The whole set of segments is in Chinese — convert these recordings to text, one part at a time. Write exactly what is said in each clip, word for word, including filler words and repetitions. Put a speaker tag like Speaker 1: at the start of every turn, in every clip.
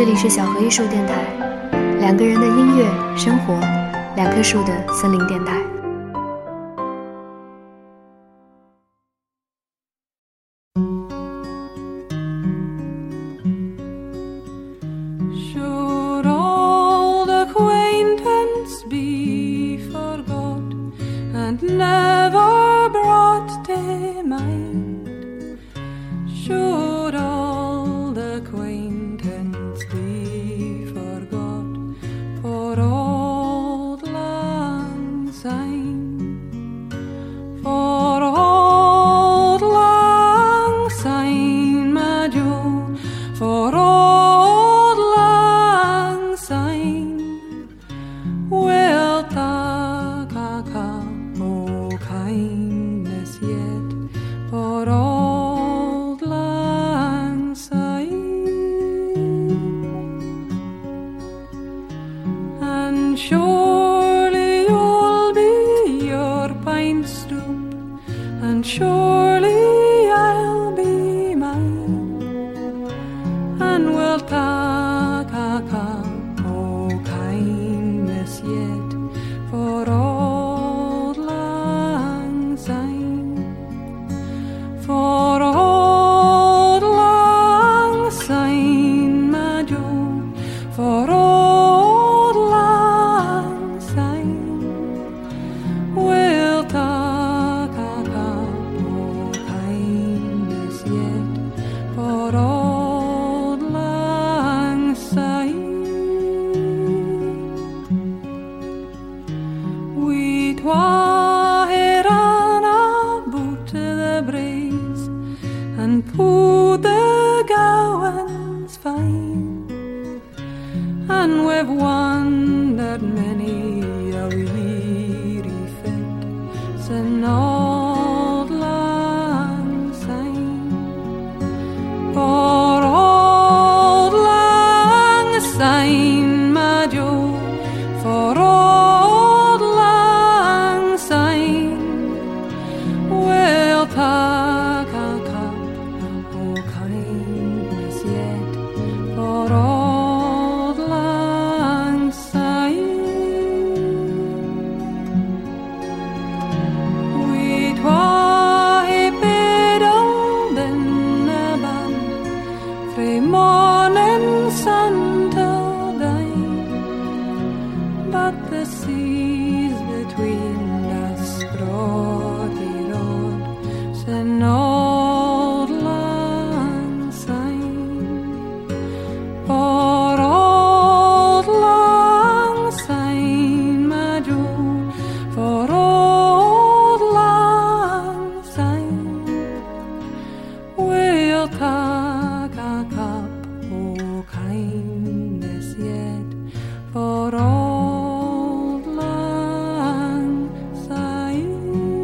Speaker 1: 这里是小河艺术电台，两个人的音乐生活，两棵树的森林电台。
Speaker 2: Surely you'll be your pine stoop, and surely I'll be mine, and we'll talk a cup o' kindness yet for auld lang syne, for auld lang syne, my Joe, for auld put the gowans fine, and we've wandered many a weary fet sin auld lang syne, for auld lang syne, my Joe, for auld lang syne, we'll talk a cup o' kindness yet for auld lang syne. We twa hae biddled in a band frae morning sun till dine, but the seas between us brought the road sin auld lang syne, for auld lang syne, my Joe, for auld lang syne, we'll tak a cup o' kindness yet for auld lang syne.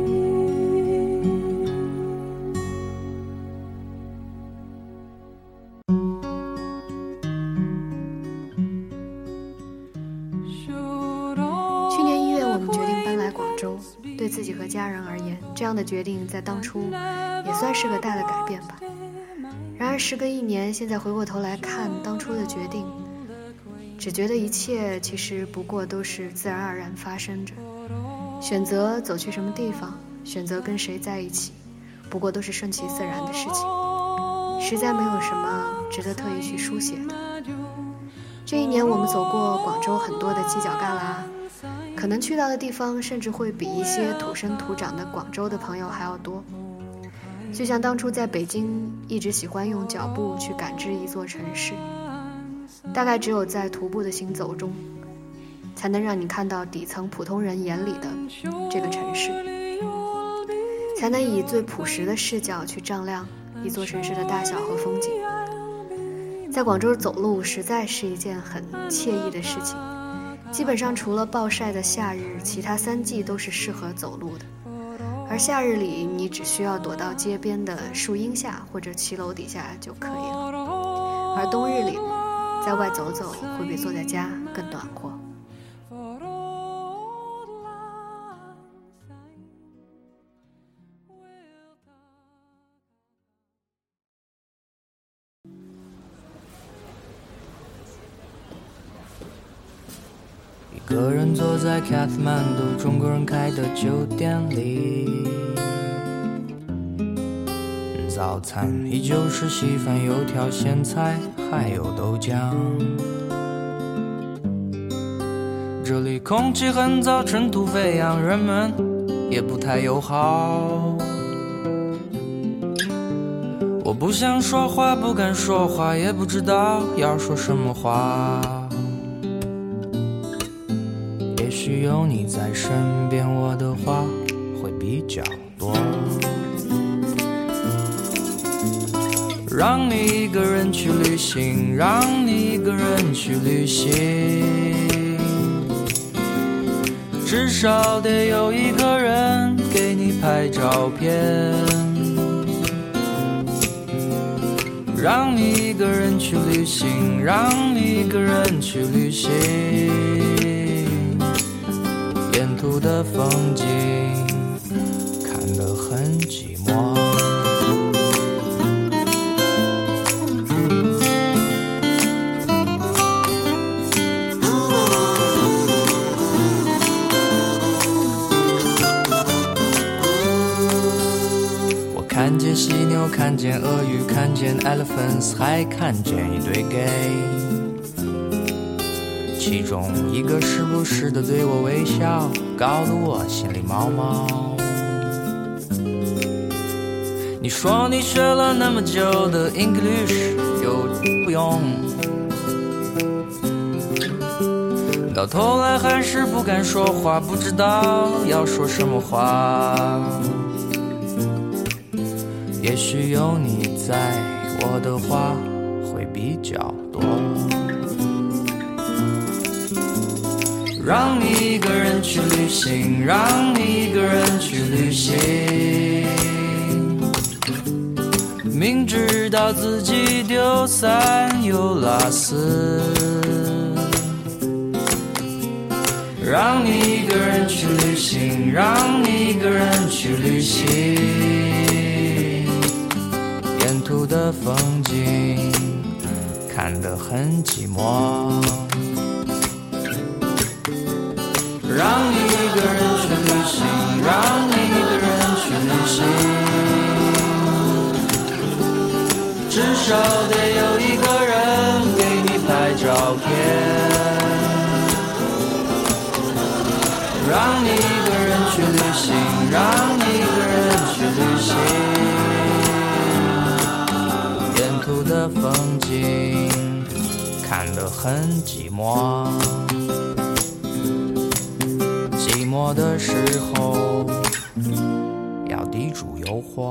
Speaker 1: 去年一月，我们决定搬来广州。对自己和家人而言，这样的决定在当初也算是个大的改变吧。然而时隔一年，现在回过头来看当初的决定，只觉得一切其实不过都是自然而然发生着。选择走去什么地方，选择跟谁在一起，不过都是顺其自然的事情，实在没有什么值得特意去书写的。这一年我们走过广州很多的犄角旮旯，可能去到的地方甚至会比一些土生土长的广州的朋友还要多。就像当初在北京一直喜欢用脚步去感知一座城市，大概只有在徒步的行走中，才能让你看到底层普通人眼里的这个城市，才能以最朴实的视角去丈量一座城市的大小和风景。在广州走路实在是一件很惬意的事情，基本上除了暴晒的夏日，其他三季都是适合走路的。而夏日里，你只需要躲到街边的树荫下或者骑楼底下就可以了。而冬日里，在外走走会比坐在家更暖和。
Speaker 3: 个人坐在卡特曼度中国人开的酒店里，早餐依旧是稀饭油条咸菜还有豆浆，这里空气很糟，尘土飞扬，人们也不太友好。我不想说话，不敢说话，也不知道要说什么话。也许有你在身边，我的话会比较多。让你一个人去旅行，让你一个人去旅行，至少得有一个人给你拍照片。让你一个人去旅行，让你一个人去旅行，沿途的风景看得很寂寞。看见犀牛，看见鳄鱼，看见 elephants， 还看见一对 gay， 其中一个时不时地对我微笑，搞得我心里毛毛。你说你学了那么久的 English 又不用，到头来还是不敢说话，不知道要说什么话。也许有你在，我的话会比较多。让你一个人去旅行，让你一个人去旅行，明知道自己丢三又落四。让你一个人去旅行，让你一个人去旅行，沿途的风景看得很寂寞。让你一个人去旅行，让你一个人去旅行，至少得有一个人给你拍照片。让你一个人去旅行，让你一个人去旅行，沿途的风景看得很寂寞。寂寞的时候要抵住诱惑。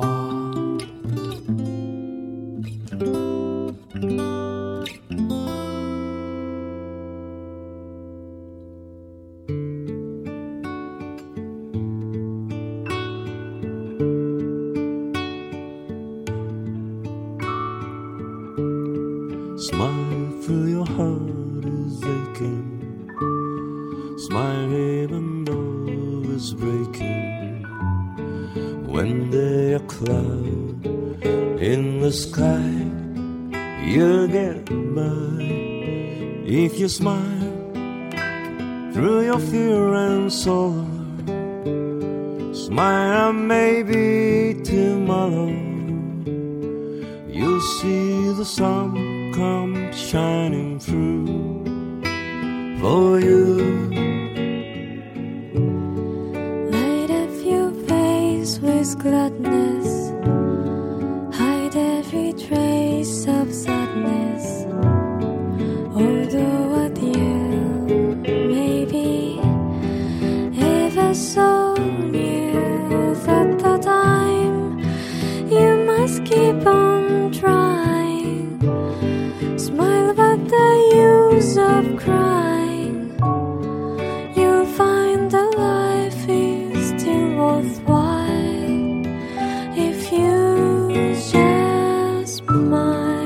Speaker 4: Smile through your heart is aching, smile even though it's breaking. When there's a cloud in the sky, you'll get by. If you smile through your fear and sorrow, smile maybe tomorrow you'll see the sun come shining through for you.
Speaker 5: Light up your face with gladness, hide every trace of sadness. Although a dear may be ever so near, at the time you must keep on trying. Smile but the use of crying, you'll find that life is still worthwhile if you just smile.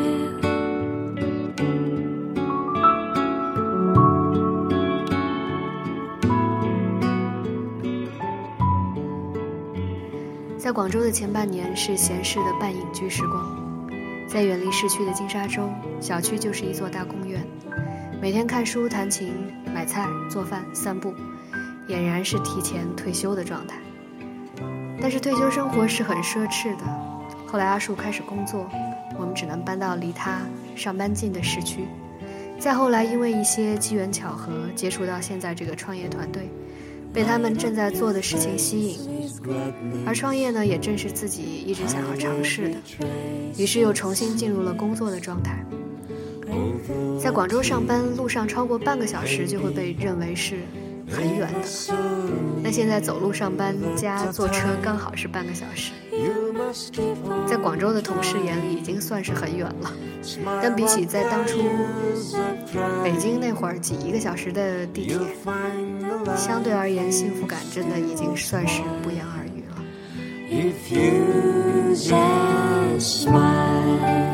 Speaker 1: 在广州的前半年是闲适的半隐居时光，在远离市区的金沙洲，小区就是一座大公园。每天看书、弹琴、 买菜、做饭、散步，俨然是提前退休的状态。但是退休生活是很奢侈的。后来阿树开始工作，我们只能搬到离他上班近的市区。再后来因为一些机缘巧合，接触到现在这个创业团队，被他们正在做的事情吸引，而创业呢，也正是自己一直想要尝试的，于是又重新进入了工作的状态。在广州上班，路上超过半个小时就会被认为是很远的，那现在走路上班加坐车刚好是半个小时，在广州的同事眼里已经算是很远了，但比起在当初北京那会儿挤一个小时的地铁，相对而言幸福感真的已经算是不言而喻了。
Speaker 5: If you just smile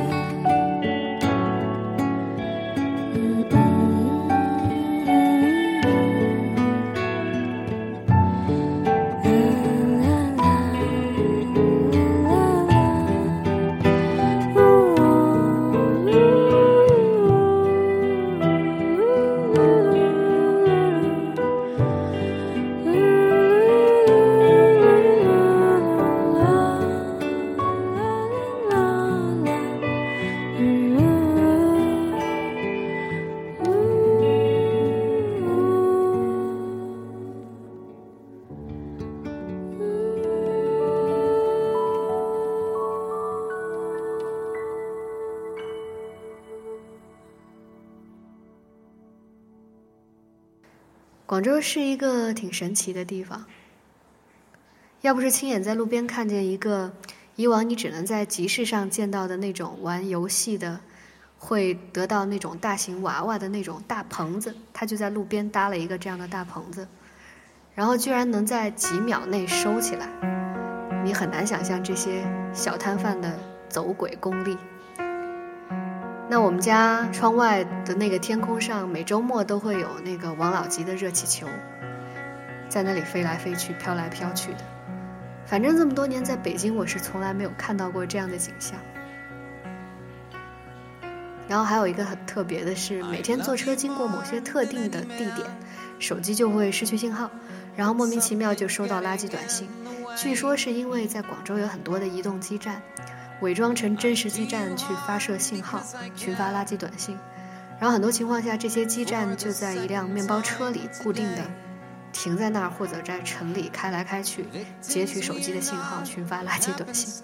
Speaker 1: 广州是一个挺神奇的地方，要不是亲眼在路边看见一个以往你只能在集市上见到的那种玩游戏的会得到那种大型娃娃的那种大棚子，他就在路边搭了一个这样的大棚子，然后居然能在几秒内收起来，你很难想象这些小摊贩的走鬼功力。那我们家窗外的那个天空上，每周末都会有那个王老吉的热气球，在那里飞来飞去，飘来飘去的。反正这么多年在北京，我是从来没有看到过这样的景象。然后还有一个很特别的是，每天坐车经过某些特定的地点，手机就会失去信号，然后莫名其妙就收到垃圾短信。据说是因为在广州有很多的移动基站，伪装成真实基站去发射信号，群发垃圾短信，然后很多情况下这些基站就在一辆面包车里固定的停在那儿，或者在城里开来开去，截取手机的信号群发垃圾短信。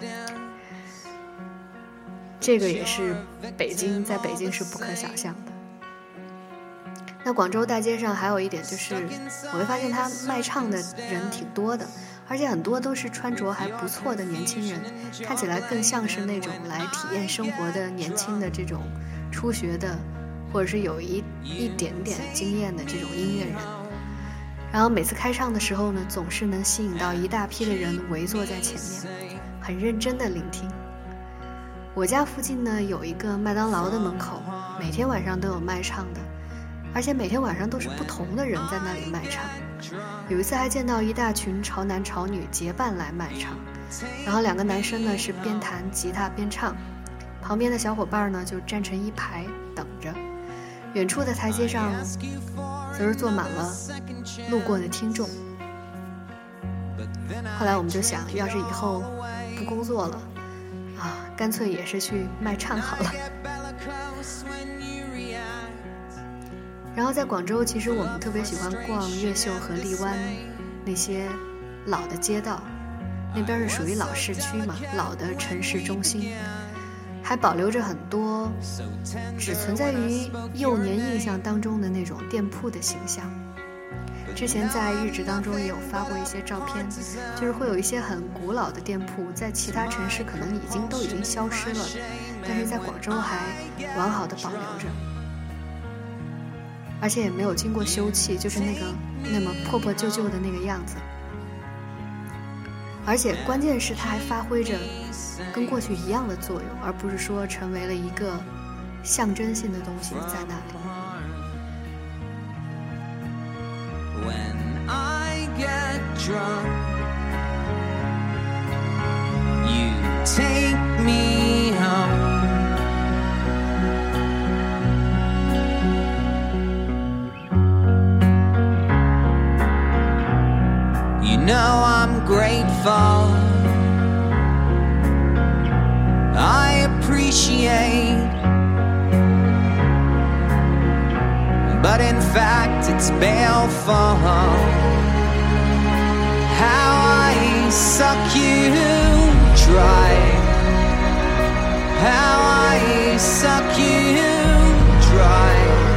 Speaker 1: 这个也是北京在北京是不可想象的。那广州大街上还有一点就是，我会发现他卖唱的人挺多的，而且很多都是穿着还不错的年轻人，看起来更像是那种来体验生活的年轻的这种初学的，或者是有一一点点经验的这种音乐人。然后每次开唱的时候呢，总是能吸引到一大批的人围坐在前面，很认真的聆听。我家附近呢有一个麦当劳的门口，每天晚上都有卖唱的，而且每天晚上都是不同的人在那里卖唱。有一次还见到一大群潮男潮女结伴来卖唱，然后两个男生呢是边弹吉他边唱，旁边的小伙伴呢就站成一排等着，远处的台阶上则是坐满了路过的听众。后来我们就想，要是以后不工作了啊，干脆也是去卖唱好了。然后在广州，其实我们特别喜欢逛越秀和荔湾那些老的街道，那边是属于老市区嘛，老的城市中心，还保留着很多只存在于幼年印象当中的那种店铺的形象。之前在日志当中也有发过一些照片，就是会有一些很古老的店铺，在其他城市可能已经都已经消失了，但是在广州还完好的保留着，而且也没有经过修葺，就是那个那么破破旧旧的那个样子。而且关键是它还发挥着跟过去一样的作用，而不是说成为了一个象征性的东西在那里。
Speaker 3: When I get drunk, you take me home. appreciate, but in fact it's baleful. How I suck you dry, how I suck you dry,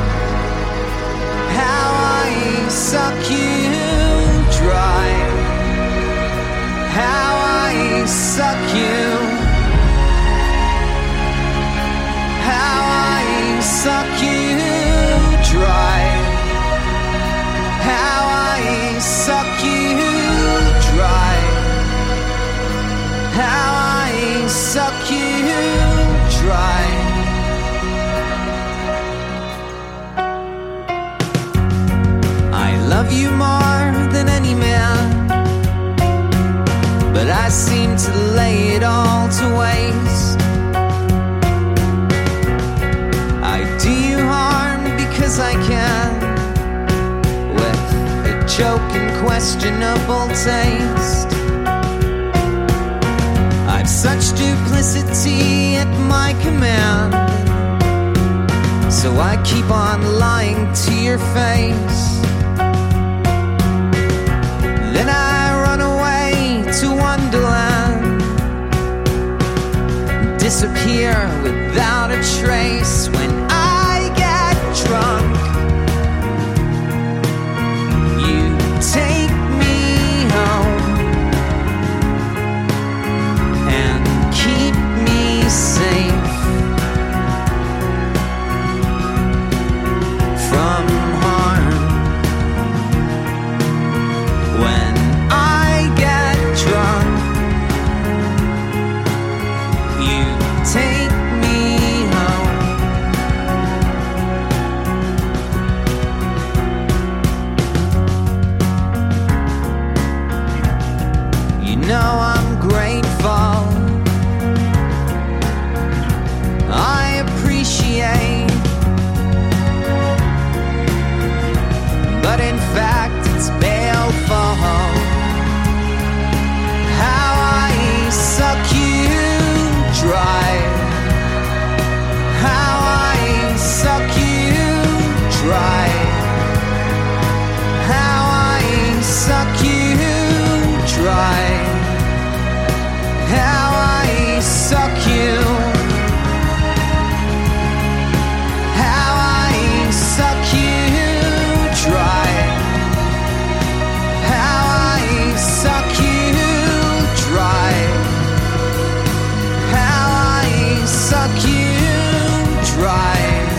Speaker 3: how I suck you dry, how I suck you, how I suck you dry, how I suck you dry, how I suck you dry. I love you more than any man, but I seem to lay it all to waste. I do you harm because I can, with a joke and questionable taste. I've such duplicity at my command, so I keep on lying to your face. Then I run away to Wonderland, disappear without a trace. When I get drunk, you take me home and keep me safe from harm. When I get drunk, you take me home. You know I'm grateful, I appreciate, but in fact it's baleful. How I suck you dry, how I suck you dry, how I suck you dry, how I suck you, how I suck you dry, how I suck you dry, how I suck you dry.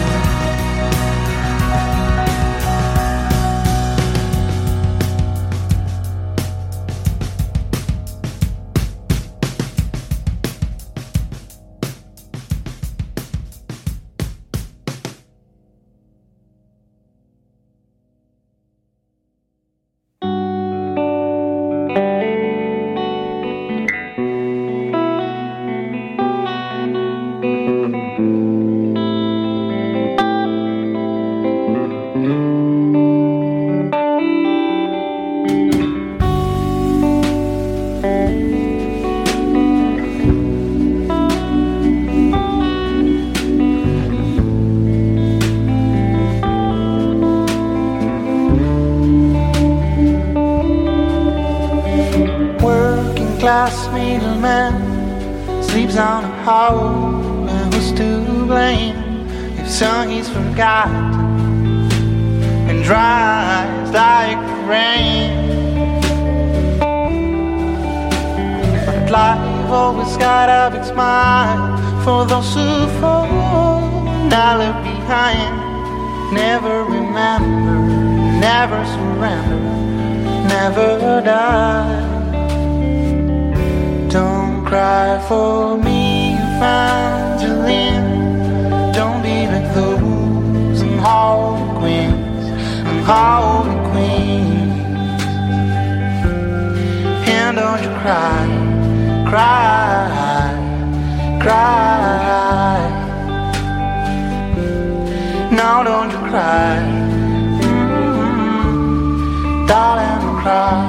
Speaker 6: Working class middleman sleeps on a hole, and who's to blame if song is forgotten and dries like rain? But life always got a big smile for those who fall, not left behind. Never remember, never surrender, never die. Don't cry for me, Evangeline. Don't be like those unholy queens, unholy queens. And don't you cry, cry, cry. Now don't you cry, mm-hmm. Darling, don't cry.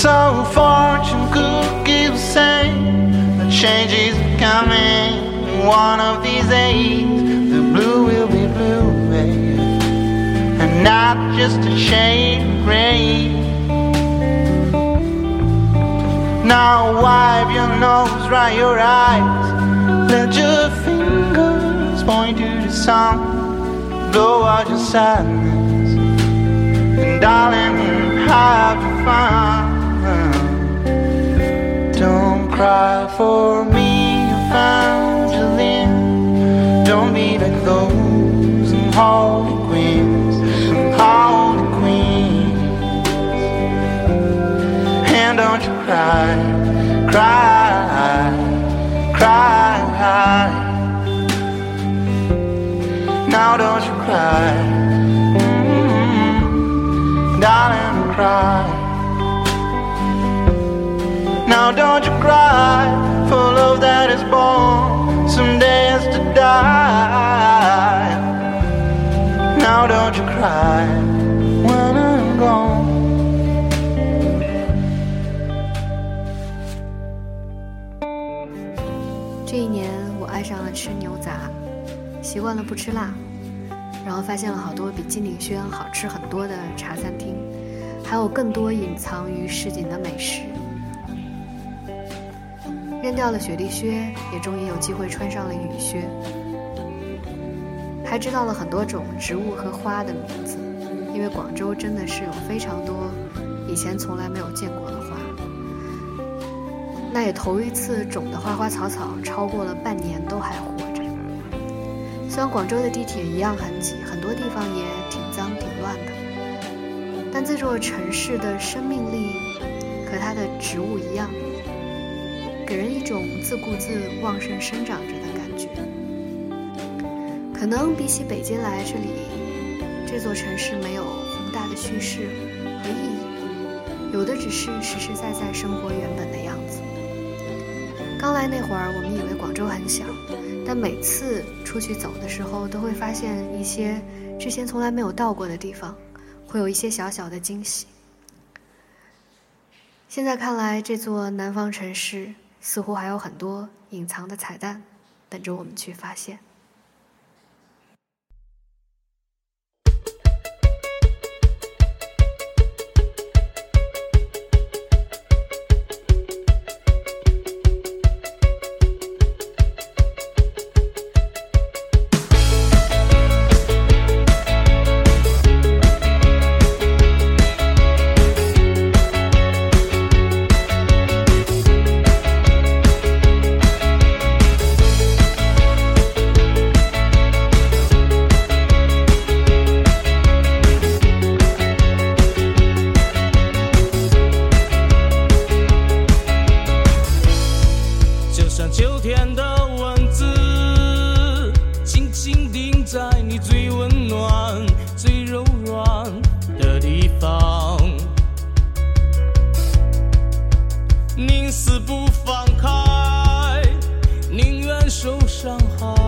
Speaker 6: So fortune cookies say the change is coming. One of these days, the blue will be blue, baby, and not just a shade of gray. Now wipe your nose, dry your eyes, let your fingers point to the sun, blow out your sadness, and darling, have fun. Don't cry for me, Evangeline. Don't be like those and holy queens and holy queens. And don't you cry, cry, cry. Now don't you cry, mm-hmm. Darling, cry. Now don't you cry for love that is born, someday has to die. Now don't you cry when I'm gone.
Speaker 1: 这一年我爱上了吃牛杂，习惯了不吃辣，然后发现了好多比金鼎轩好吃很多的茶餐厅，还有更多隐藏于市井的美食。扔掉了雪地靴，也终于有机会穿上了雨靴，还知道了很多种植物和花的名字，因为广州真的是有非常多以前从来没有见过的花。那也头一次种的花花草草超过了半年都还活着。虽然广州的地铁一样很挤，很多地方也挺脏挺乱的，但这座城市的生命力和它的植物一样，给人一种自顾自旺盛生长着的感觉。可能比起北京来，这里这座城市没有宏大的叙事和意义，有的只是实实在在生活原本的样子。刚来那会儿，我们以为广州很小，但每次出去走的时候，都会发现一些之前从来没有到过的地方，会有一些小小的惊喜。现在看来，这座南方城市似乎还有很多隐藏的彩蛋等着我们去发现。
Speaker 7: 宁死不放开，宁愿受伤害。